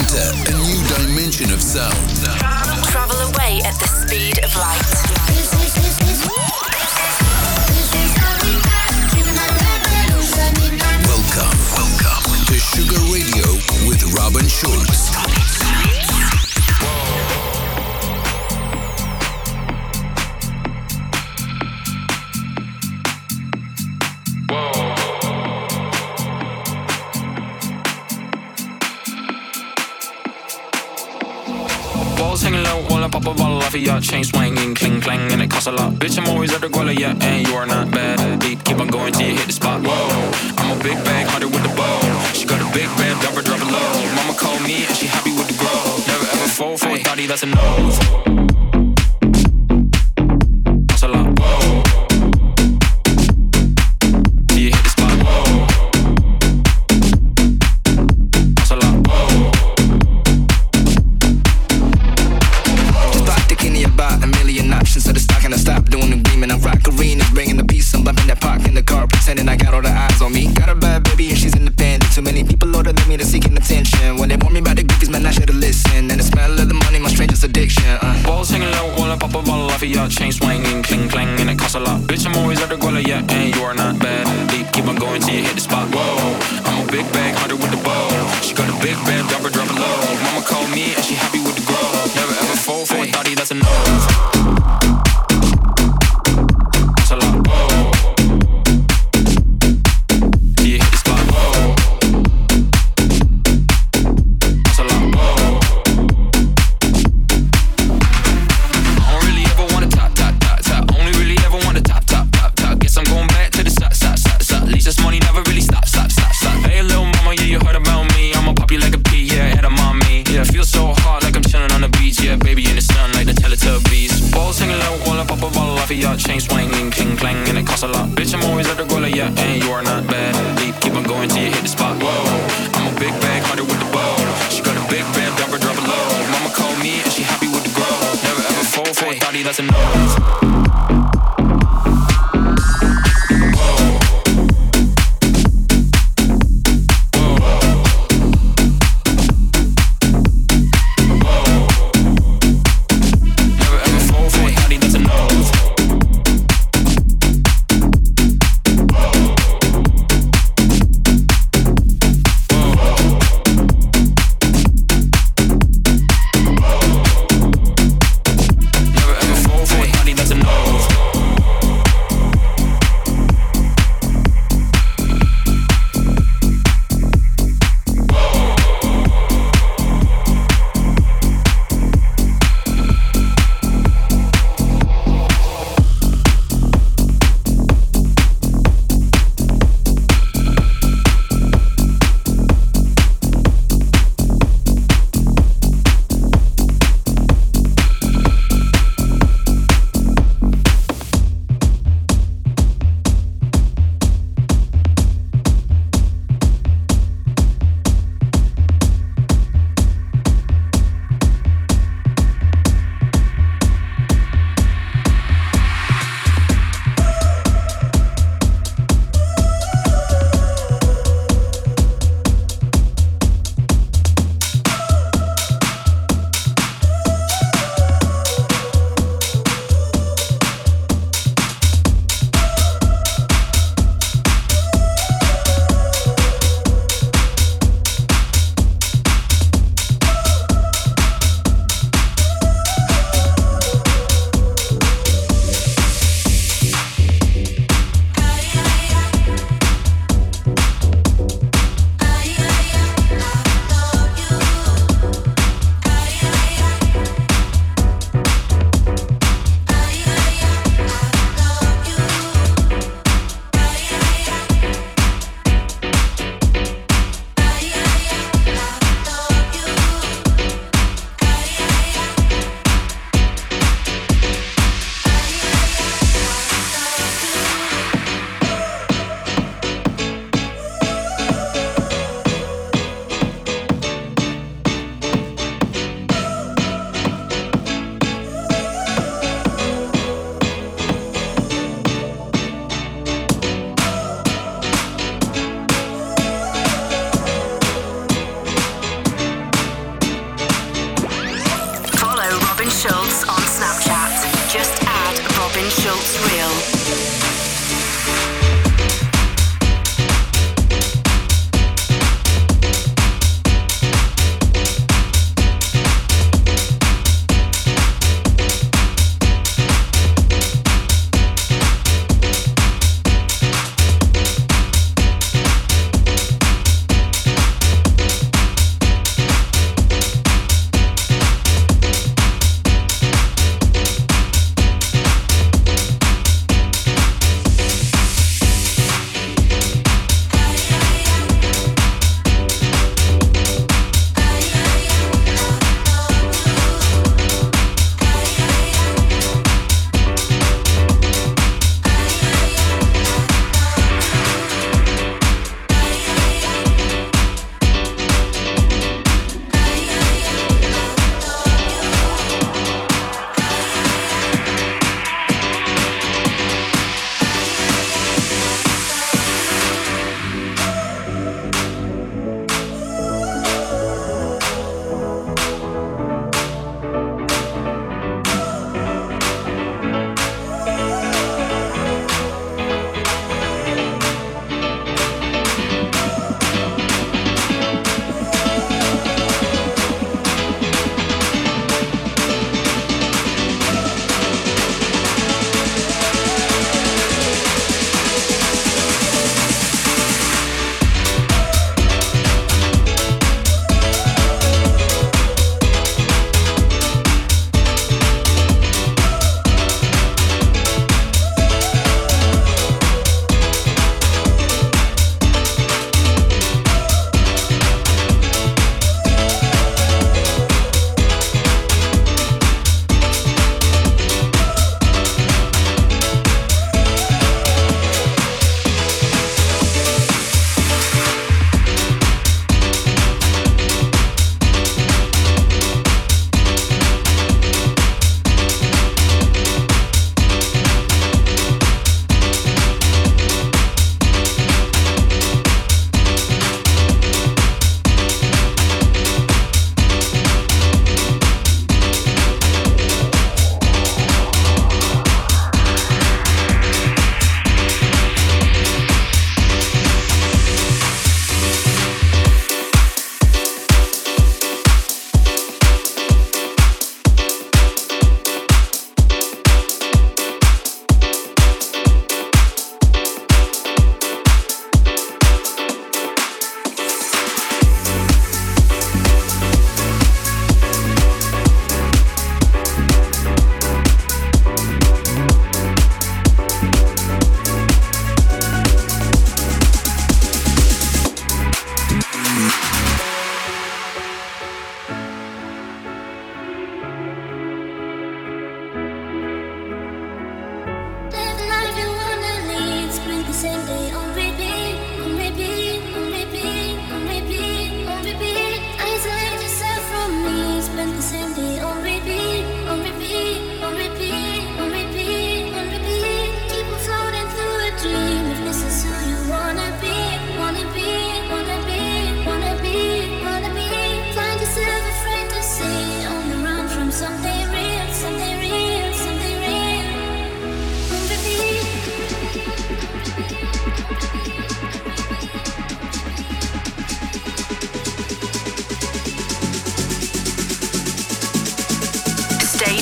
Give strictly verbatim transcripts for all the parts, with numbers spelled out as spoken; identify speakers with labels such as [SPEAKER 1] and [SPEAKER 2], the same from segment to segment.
[SPEAKER 1] Enter a new dimension of sound.
[SPEAKER 2] Travel away at the speed of light.
[SPEAKER 1] Welcome, welcome to Sugar Radio with Robin Schulz.
[SPEAKER 3] Hanging low while I pop a bottle off of your chain swinging, cling clang, and it costs a lot. Bitch, I'm always at the guala, yeah, and you are not bad. Deep, keep on going till you hit the spot. Whoa, I'm a big bag hunter with the bow. She got a big band, drop her, drop it low. Mama called me and she happy with the grow. Never ever fall for a thotty, that's a no. Costs a lot. Whoa. Till you hit the spot. Whoa. Costs a lot. Whoa.
[SPEAKER 4] About a million options, so the stock and I stop doing the agreement. I'm rock arenas, bringing the peace. I'm bumping that park in the car, pretending I got all the eyes on me. Got a bad baby and she's independent. Too many people older than me that's seeking attention. When they warn me about the goofies, man, I should've listened. And the smell of the money, my strangest addiction. Uh.
[SPEAKER 3] Balls hanging low while I pop a bottle off of your chain swinging, cling clang, and it costs a lot. Bitch, I'm always at the guala, yeah, and you are not bad. Deep, keep on going till you hit the spot. Whoa, I'm a big bag hunter with the bow. She got a big band, drop her, drop it low. Mama called me and she happy with the grow. Never ever fall for a thotty, that's a no. That's a lot. Whoa. Do you hit the spot? Whoa. That's a lot. Whoa. I don't really ever want to top, top, top, top. Only really ever want to top, top, top, top. Guess I'm going back to the side, side, side, side. At least this money never really stop, stop, stop, stop. Hey, little mama, yeah, you heard about me. I'ma pop you like a pea, yeah, head of mommy. Yeah, feel so hard like I'm chilling on the beach. Yeah, baby in the sun like the Teletubbies. Balls hanging low while I pop a bottle off of your chain swinging, cling clang, and it costs a lot. Bitch, I'm always at the guala, yeah, and you are not bad. Deep, keep on going till you hit the spot. Whoa, I'm a big bag hunter with the bow. She got a big band, drop her, drop it low. Mama called me and she happy with the grow. Never ever fall for a thotty, that's a no. That's a no.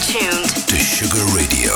[SPEAKER 2] tuned
[SPEAKER 1] to Sugar Radio.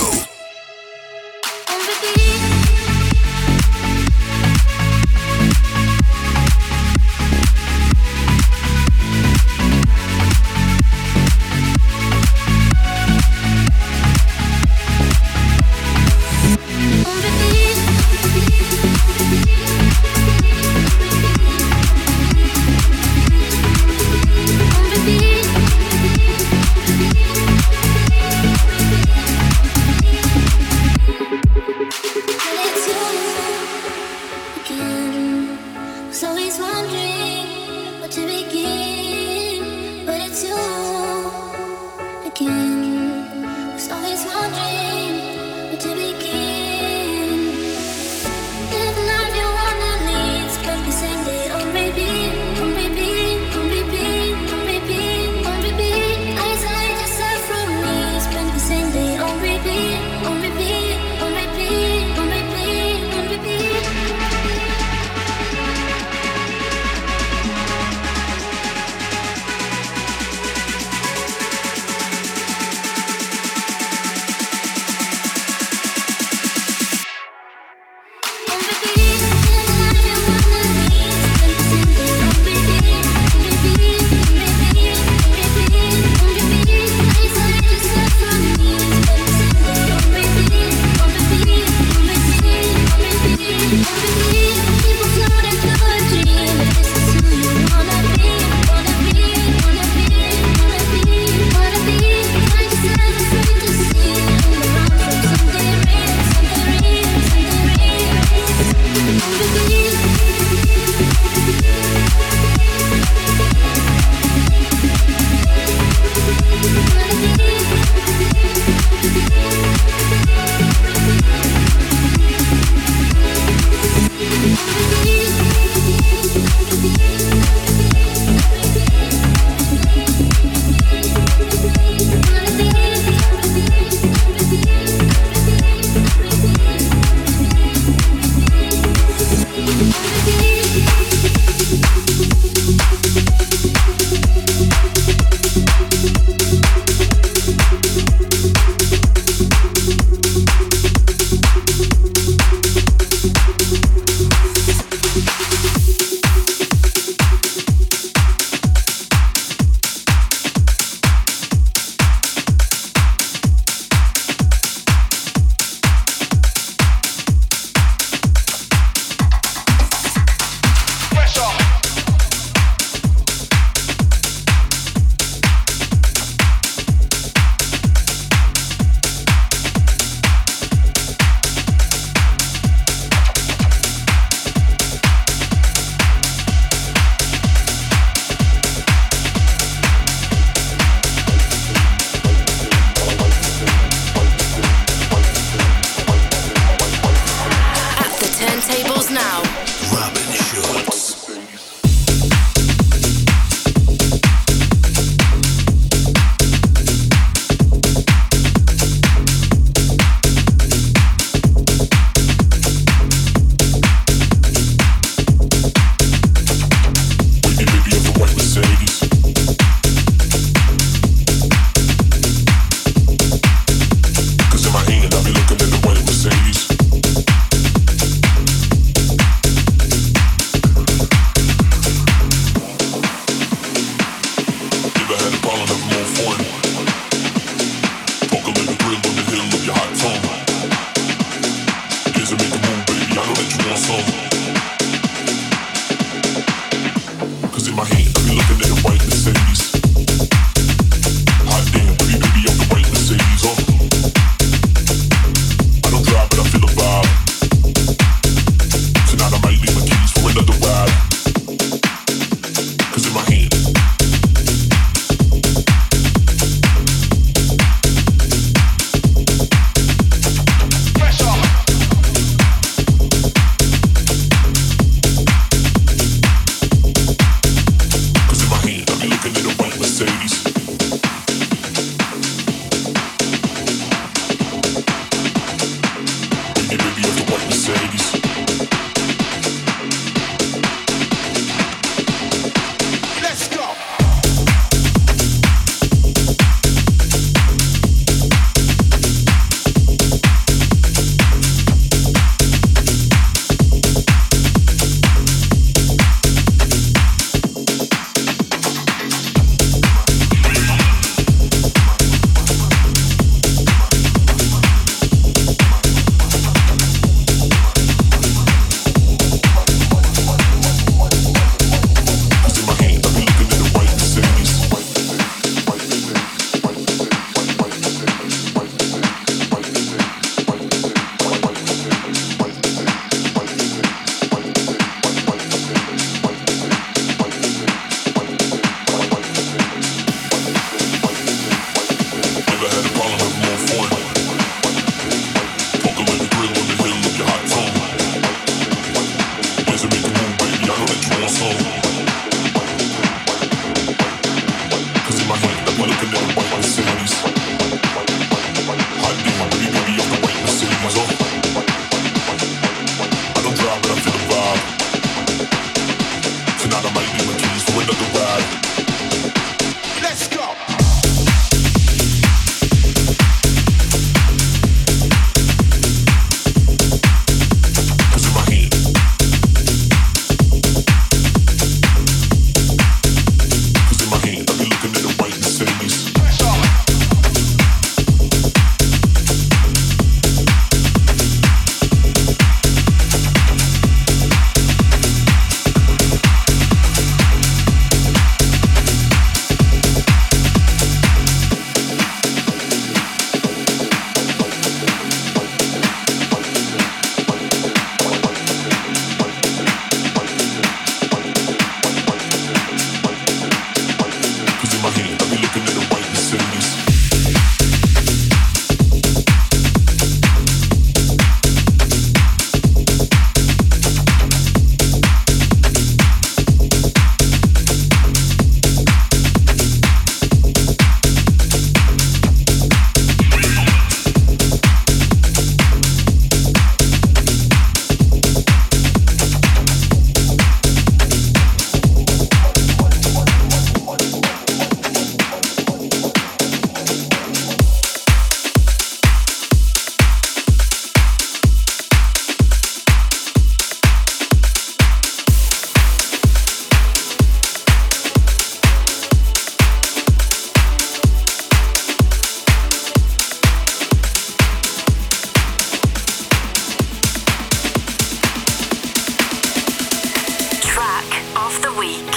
[SPEAKER 2] week.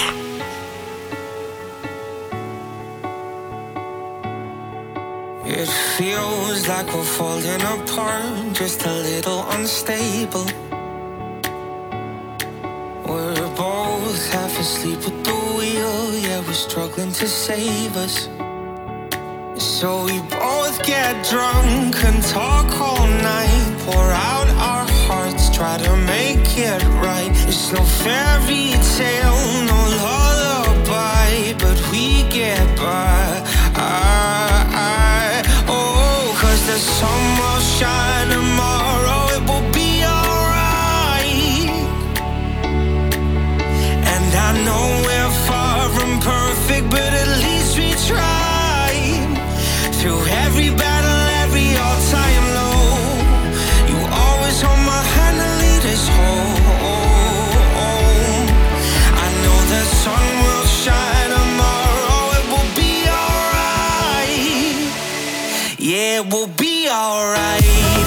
[SPEAKER 5] It feels like we're falling apart, just a little unstable. We're both half asleep at the wheel, yeah, we're struggling to save us. So we both get drunk and talk all night, pour out our hearts, try to make it right. It's no fairy tale, no lullaby, but we get by. I, I, oh, cause the sun will shine tomorrow, it will be alright. And I know we're far from perfect, but at least we try. Through every battle, every all-time low, you always hold my hand and lead us home. I know the sun will shine tomorrow, it will be alright. Yeah, it will be alright.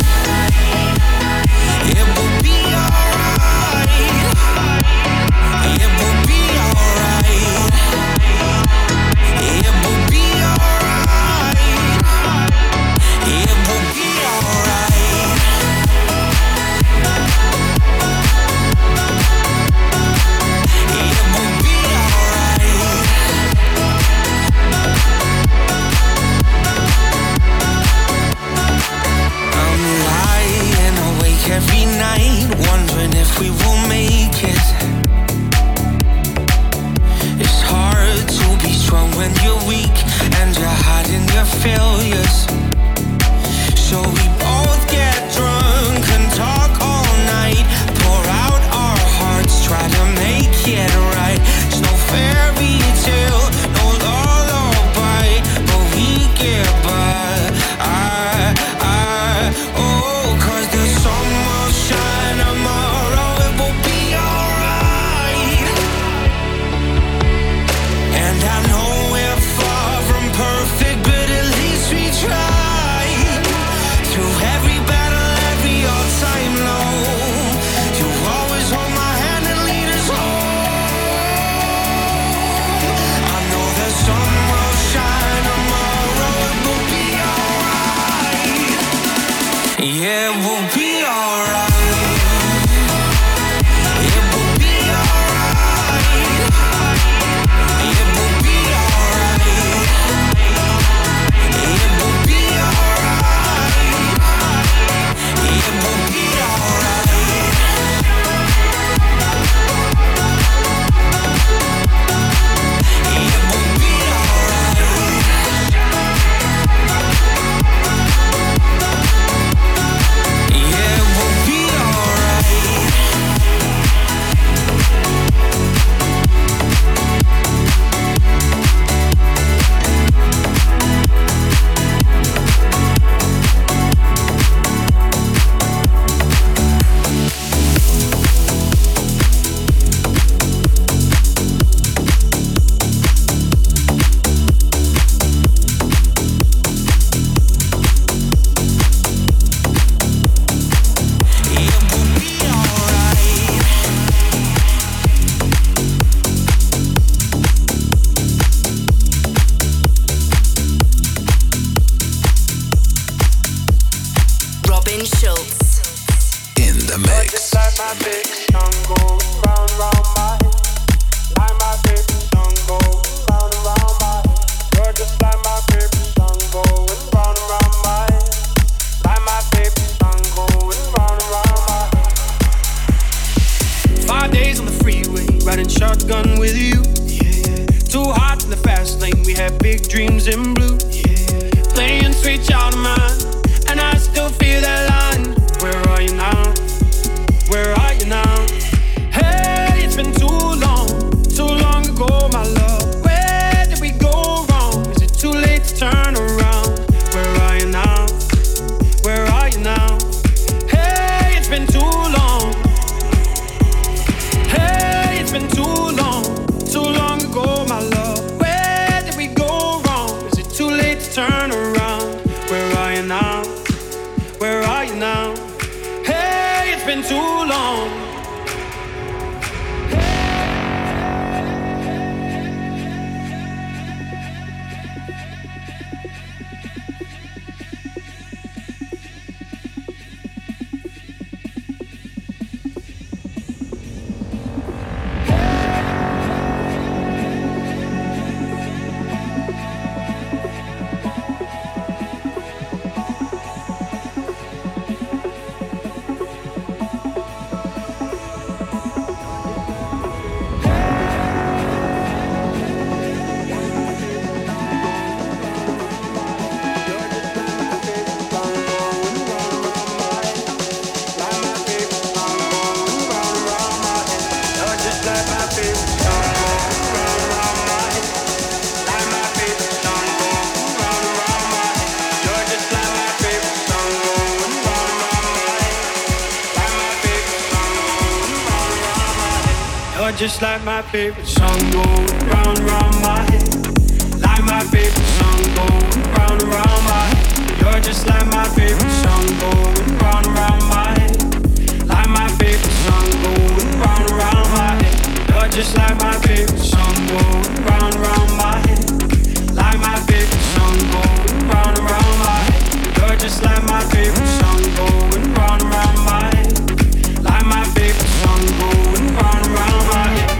[SPEAKER 5] It will be alright. It will be alright. It will be alright. It will be alright. It will be alright. I'm lying awake every night, wondering if we will make it. It's hard to be strong when you're weak and you're hiding your failures. So we both get drunk and talk all night, pour out our hearts, try to make it right. It's no fairy tale, no lullaby, but we get by. I, I, oh, cause the sun will shine tomorrow, it will be alright. And I know we're far from perfect, but at least we try. Through every battle, every all-time low, you always hold my hand and lead us home. I know the sun will shine tomorrow, it will be alright. Yeah, it will be alright. It will be alright. It will be alright. It will be alright. It will be alright. It will be alright. Yeah, it will be alright. It will be alright.
[SPEAKER 2] Robin Schulz.
[SPEAKER 1] In the mix.
[SPEAKER 6] Like my big sun goes round and round my head. Like my baby sun goes round and round my head. You're just like my baby sun going round and round my head. Like my baby sun going round and round my head.
[SPEAKER 7] Five days on the freeway, riding shotgun with you. Yeah. Too hot in the fast lane, we had big dreams in blue. Yeah. Playing sweet child of mine, and I still feel that line. Where are you now? Where are you now? Hey, it's been too long, too long ago, my love. Where did we go wrong? Is it too late to turn around? Where are you now? Where are you now? Hey, it's been too long. Hey, it's been too long, too long ago, my love. Where did we go wrong? Is it too late to turn around? Where are you now? Where are you You're just like my favorite song going round and round my head. Like my favorite song going round and round my head. You're just like my favorite song going round and round my head. Like my favorite song going round and round my head. You're just like my favorite song going round and round my head. Like my favorite song going round and round my head. You're just like my favorite song going round and round my head. Like my favorite song going round and round my head.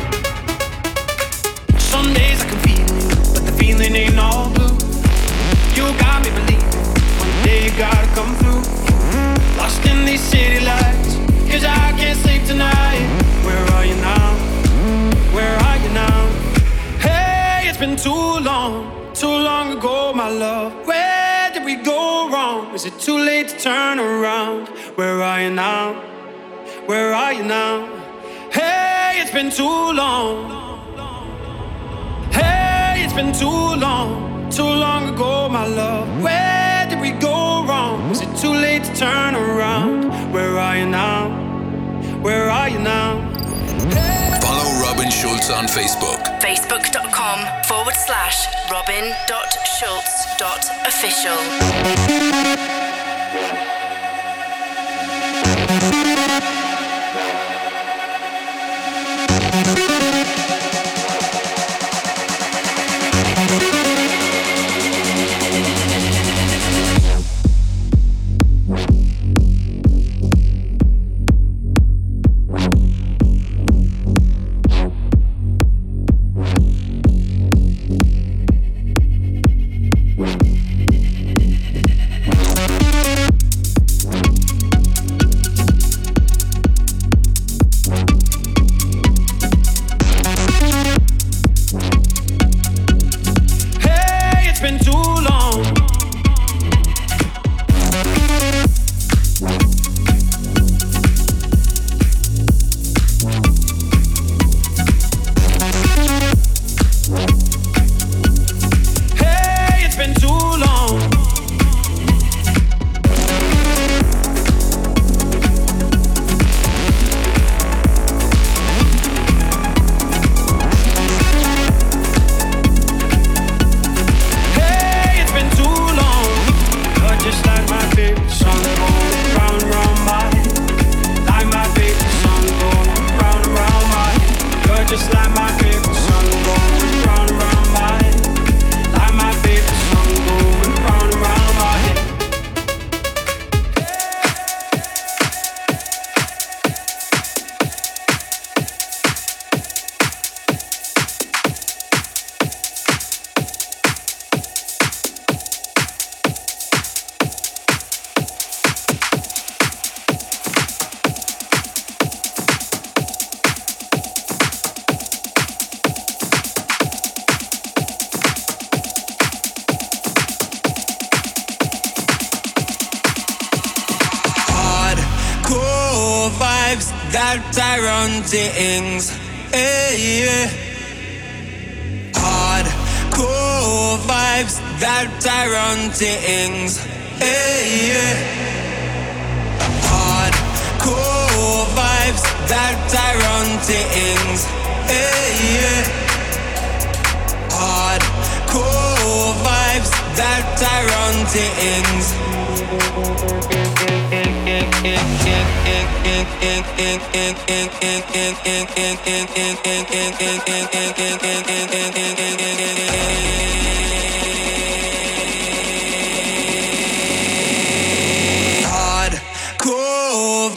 [SPEAKER 7] Some days I can feel you, but the feeling ain't all blue. You got me believing one day you gotta come through. Lost in these city lights, 'cause I can't sleep tonight. Where are you now? Where are you now? Hey, it's been too long, too long ago, my love. Where did we go wrong? Is it too late to turn around? Where are you now? Where are you now? Hey, it's been too long. Hey, it's been too long, too long ago, my love. Where did we go wrong? Is it too late to turn around? Where are you now? Where are you now?
[SPEAKER 1] Follow Robin Schulz on Facebook.
[SPEAKER 2] Facebook.com forward slash Robin dot Schulz dot official.
[SPEAKER 8] That Tyrone things, hey, yeah. Hardcore vibes, that Tyrone things, hey, yeah. Hardcore vibes, that Tyrone things, hey, yeah. Hardcore vibes, that Tyrone things. Hardcore.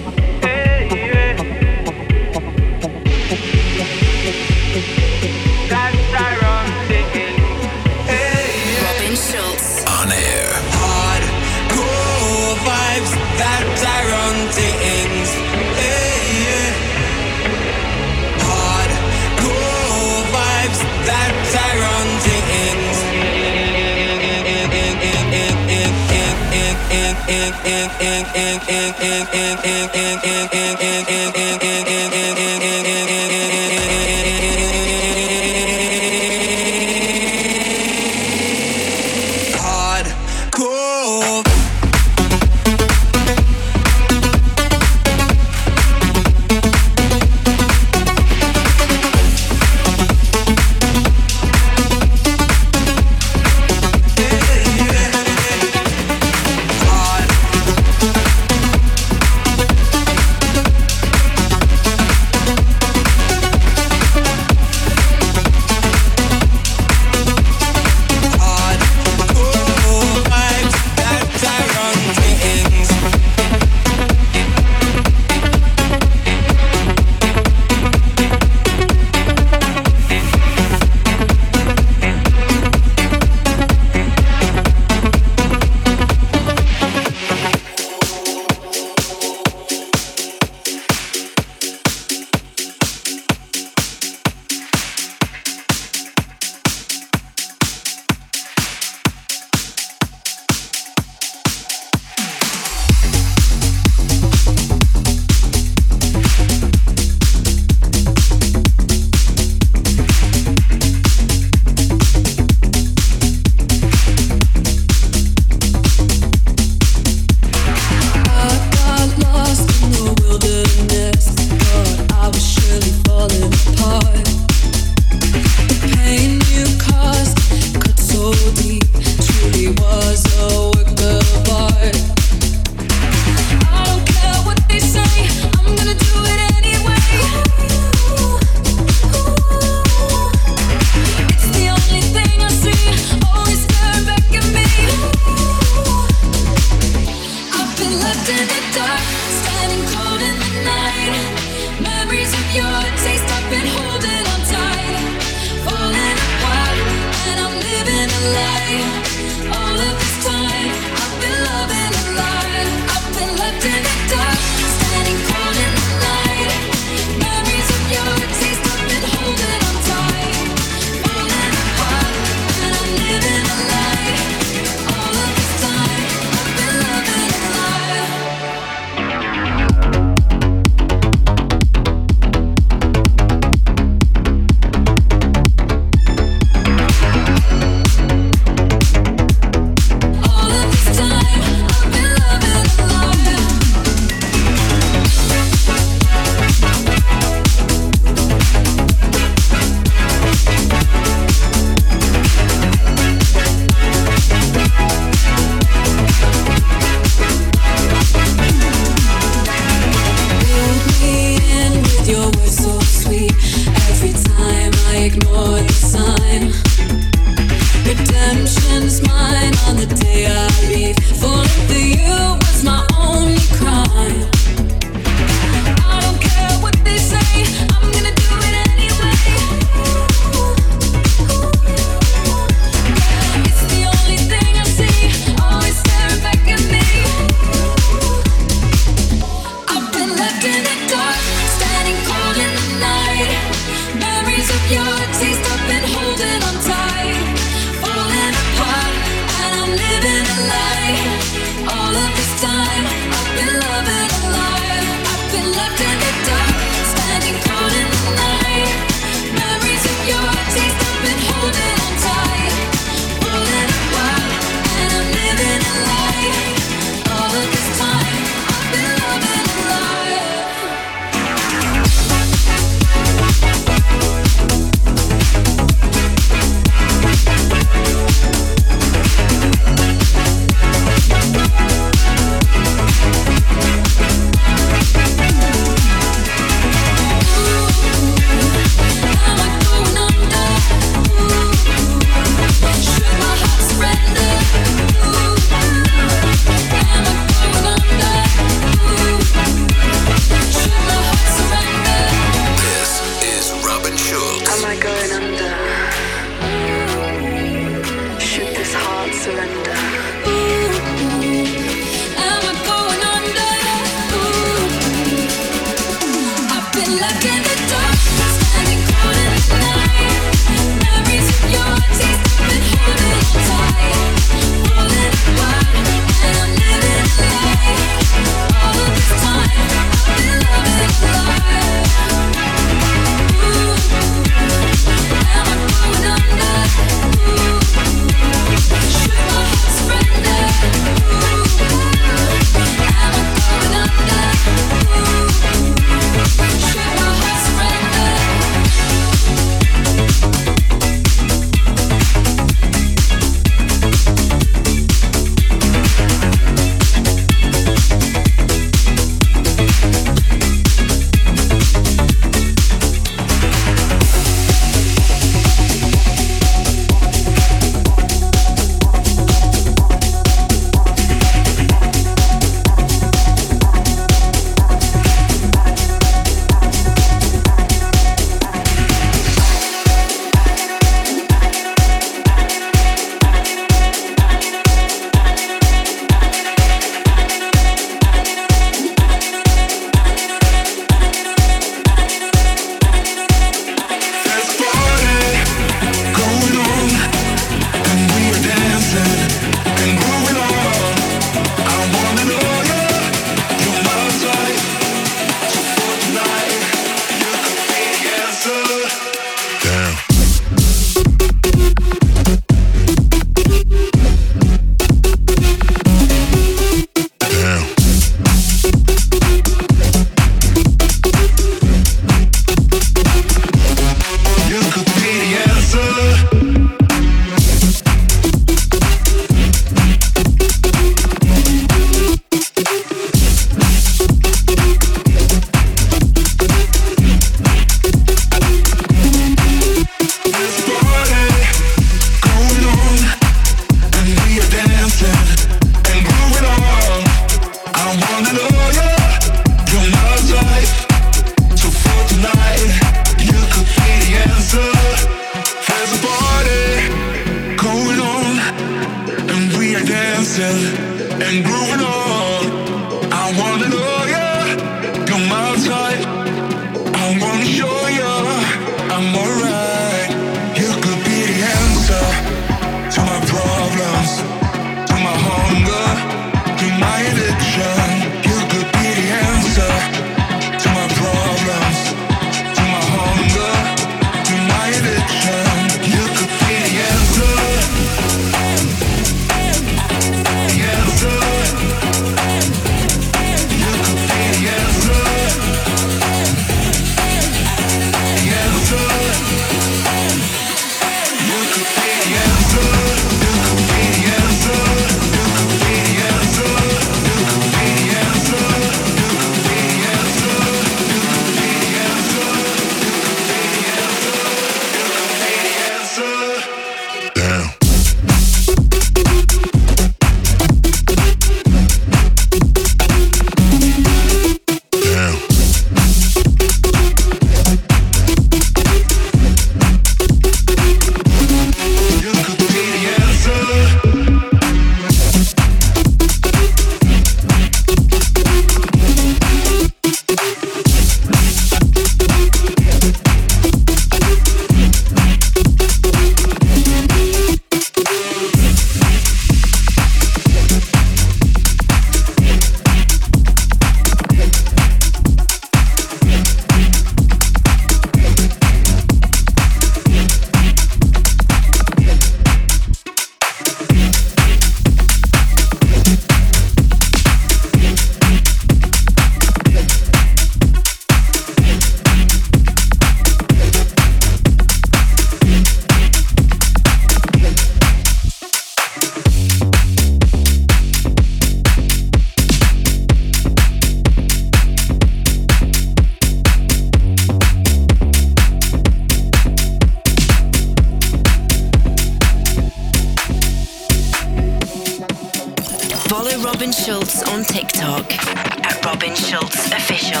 [SPEAKER 2] Robin Schulz on TikTok at Robin Schulz Official.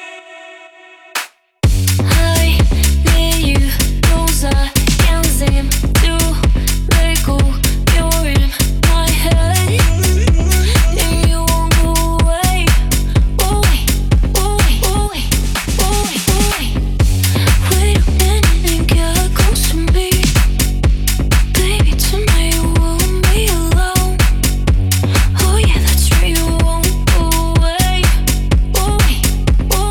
[SPEAKER 9] Hej, med you, those I can't seem to let go. You're in my head, and you won't go away. Away, away, away, away, away. Wait a minute and get close to me. Baby, tonight you won't be alone. Oh yeah, that's right, you won't go away. Away, away.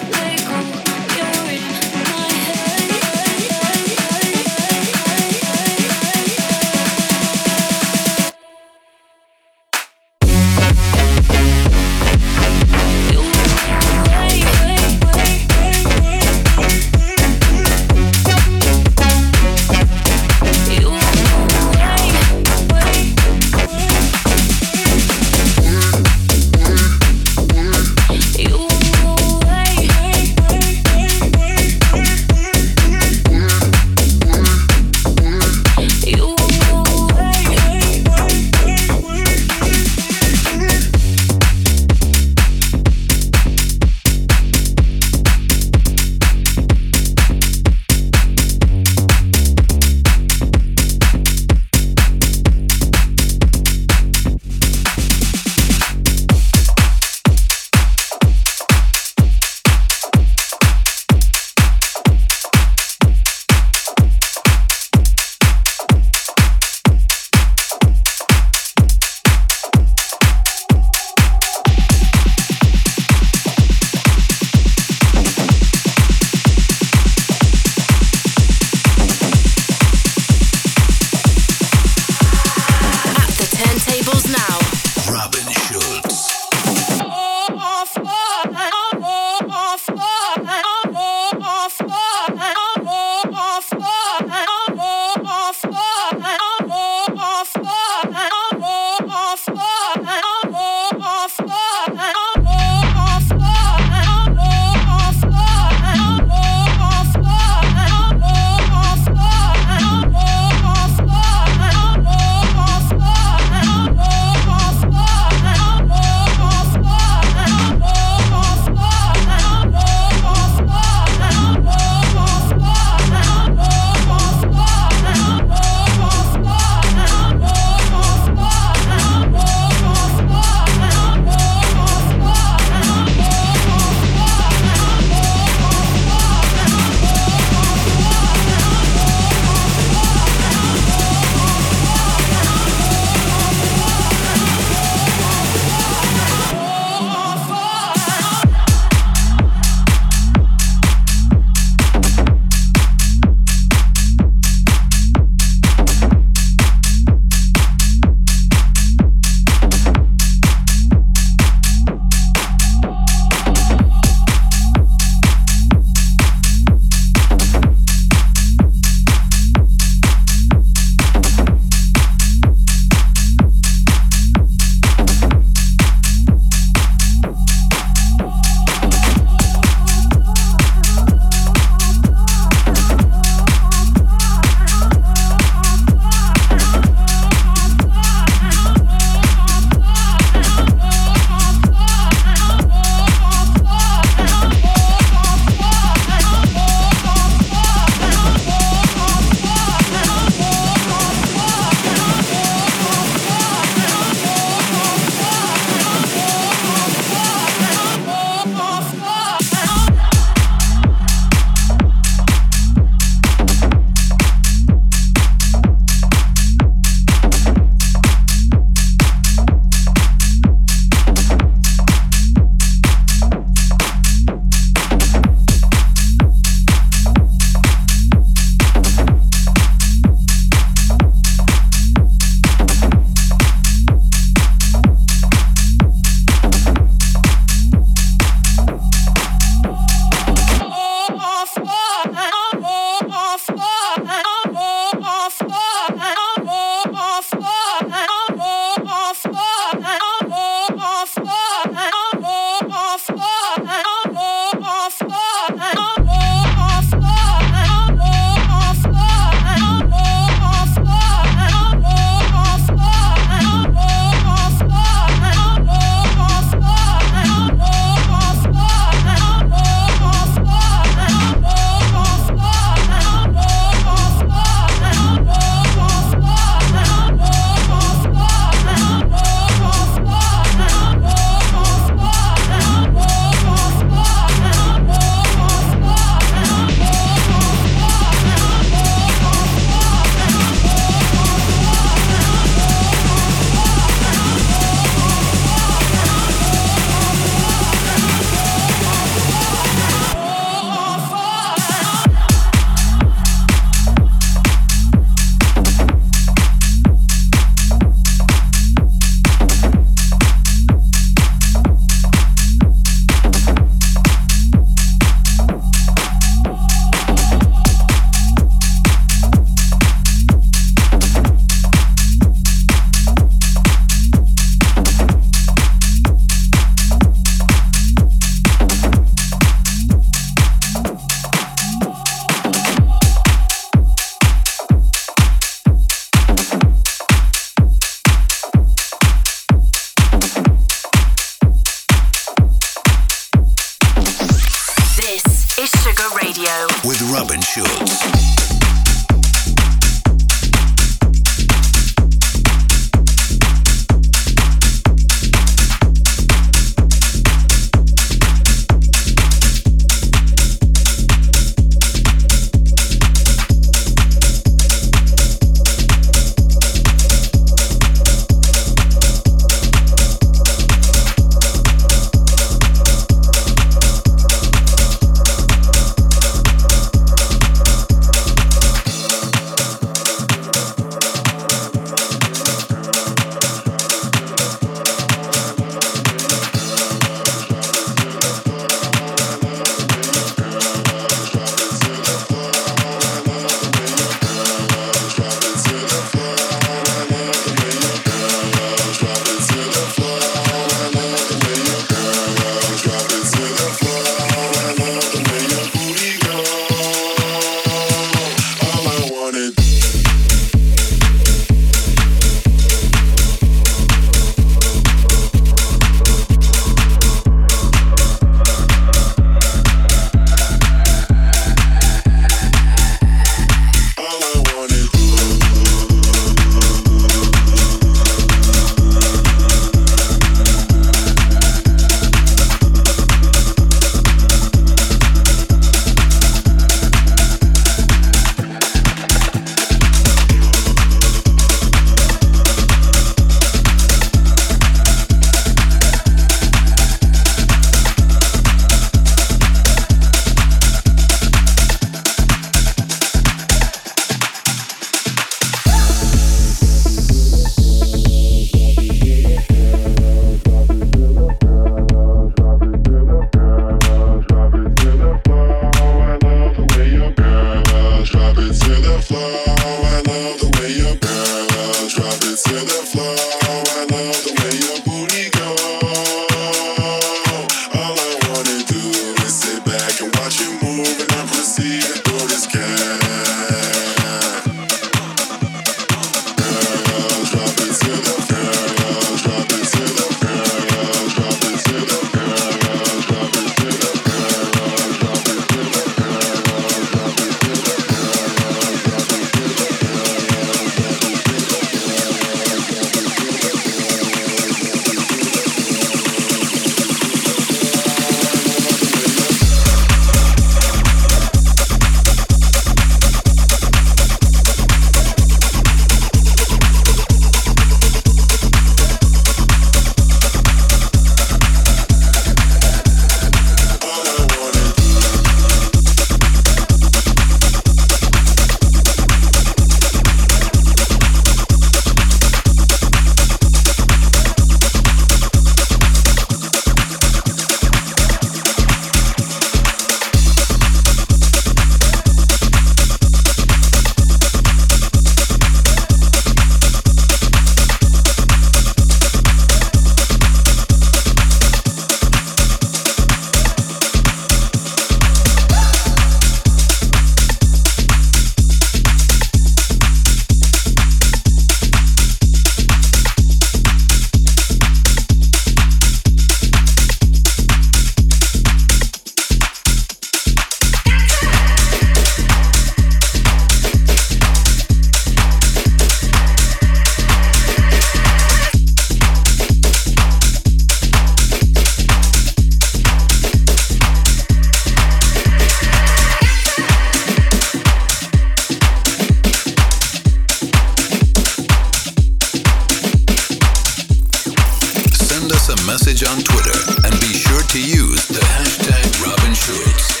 [SPEAKER 1] message on Twitter and be sure to use the hashtag Robin Schulz.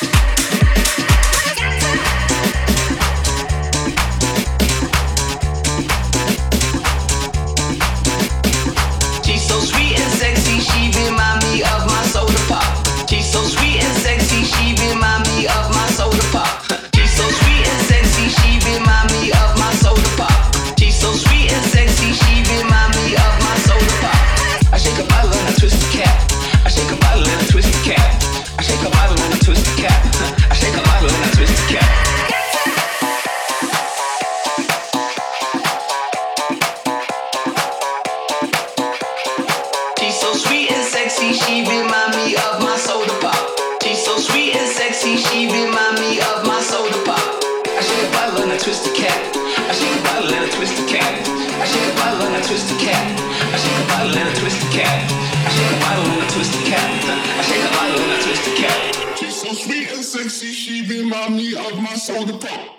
[SPEAKER 10] She's so sweet and sexy, she remind me of my soda pop. She's so sweet and sexy, she remind me of my soda pop. She's so sweet and sexy, she remind me of my soda pop. She's so sweet and sexy, she remind me of my soda pop. I shake a bottle and I twist the cap. I shake a bottle and I twist the cap. I shake a bottle and I twist the cap. I shake a bottle and I twist the cap. She's so sweet and sexy, she remind me of my soda pop. She's so sweet and sexy, she remind me of my soda pop. I shake a bottle and I twist the cap. I shake a bottle and I twist the cap. I shake a bottle and I twist the cap. I shake a bottle and I twist the cap. I shake a bottle and I twist the cap. I shake a bottle and I twist the cap.
[SPEAKER 11] She's so sweet and sexy, she remind me of my soda pop.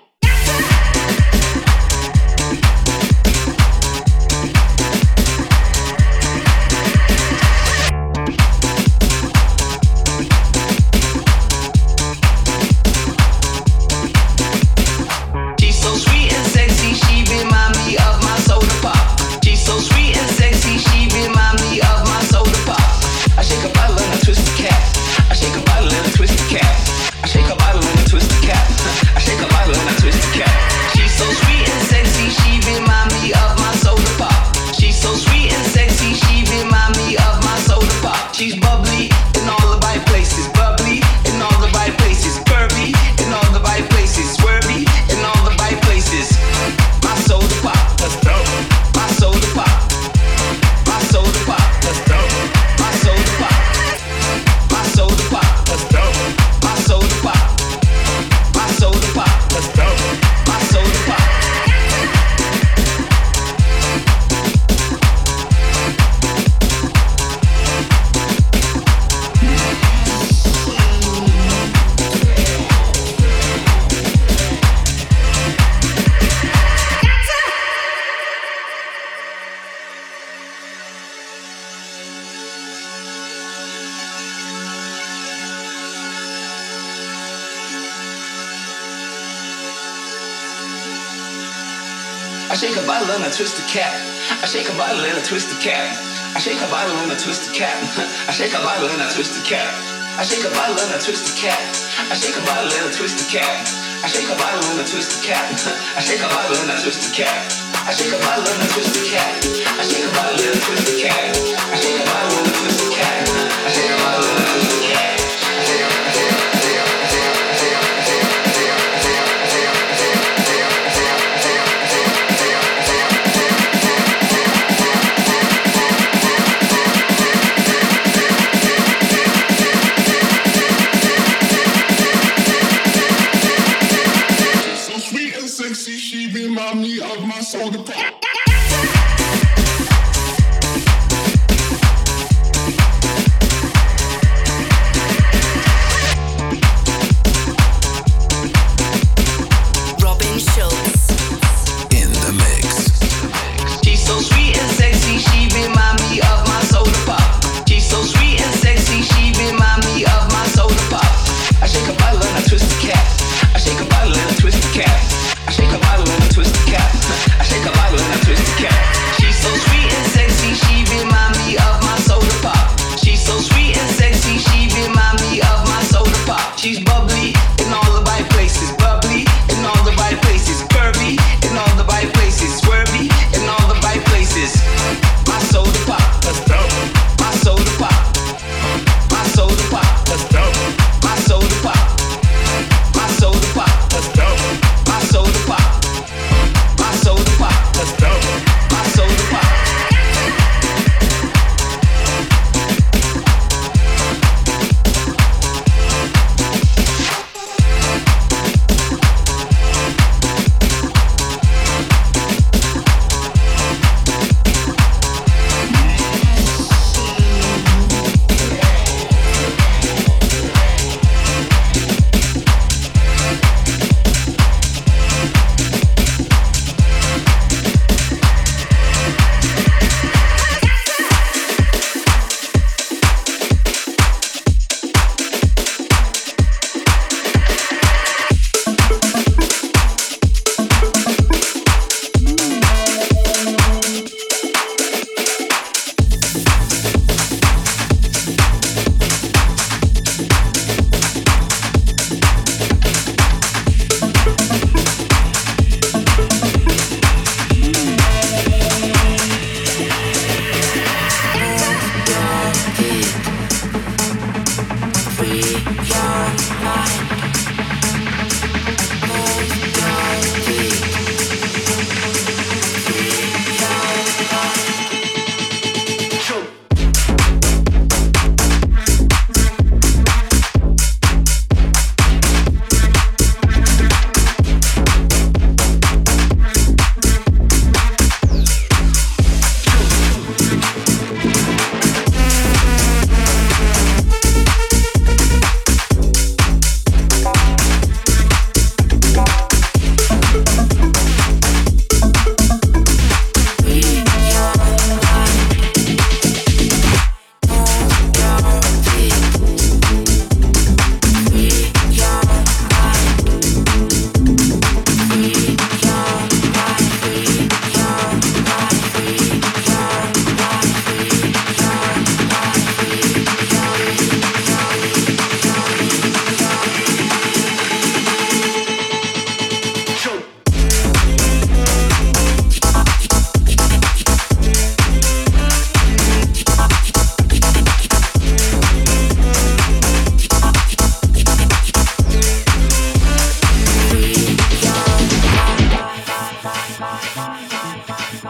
[SPEAKER 10] I shake a bottle and I twist the cap. I shake a bottle and I twist the cap. I shake a bottle and I twist the cap. I shake a bottle and I twist the cap. I shake a bottle and I twist the cap. I shake a bottle and I twist the cap. I shake a bottle and I twist the cap. I shake a bottle and I twist the cap. I shake a bottle and I twist the cap. I shake a bottle and I twist the cap. I shake a bottle and I twist the cap. I shake a bottle and I twist the cap.
[SPEAKER 11] She remind me of my soda pop.
[SPEAKER 2] Robin Schulz
[SPEAKER 1] in the mix.
[SPEAKER 10] She's so sweet and sexy, she remind me of my soda pop. She's so sweet and sexy, she remind me of my soda pop. I shake a bottle and I twist the cap. I shake a bottle and I twist the cap. I shake a bottle and I twist the cap. I shake a bottle and I twist the cap. She's so sweet and sexy, she remind me of my soda pop. She's so sweet and sexy, she remind me of my soda pop. She's bubbly in all the right places, bubbly in all the right places, curvy in all the right places, swervy in all the right places. My soda pop, let's go. My soda pop, my soda pop, let's go. My soda pop, my soda pop, let's go. My soda pop, my soda pop, let's go. My soda pop.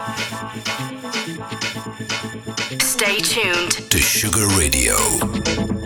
[SPEAKER 2] Stay tuned
[SPEAKER 1] to Sugar Radio.